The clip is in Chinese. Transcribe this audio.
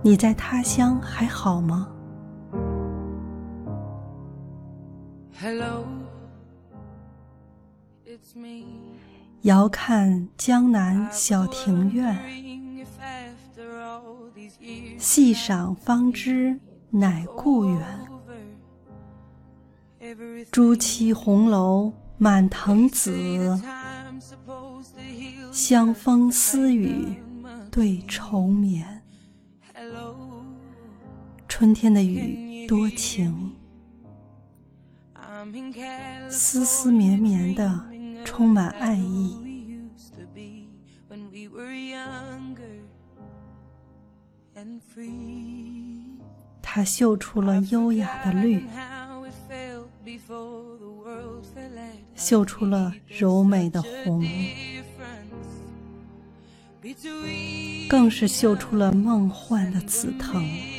你在他乡还好吗？ Hello, it's me. 遥看江南小庭院，细赏方知乃故园。朱漆红楼满藤紫，香风私语对愁眠。春天的雨多情，丝丝绵绵的充满爱意。它绣出了优雅的绿，绣出了柔美的红，更是绣出了梦幻的紫藤。